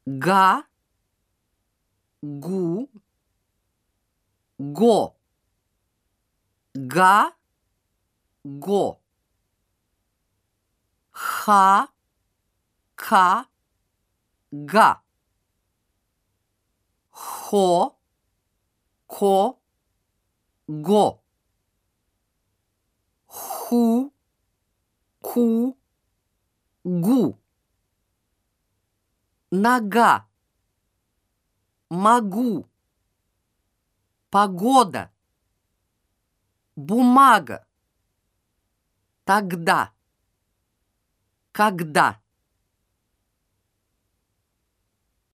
га, гу, го, га, го, ха, ка, га, хо, ко, го, ху, ку, гу, нога, могу, погода, бумага, тогда, когда.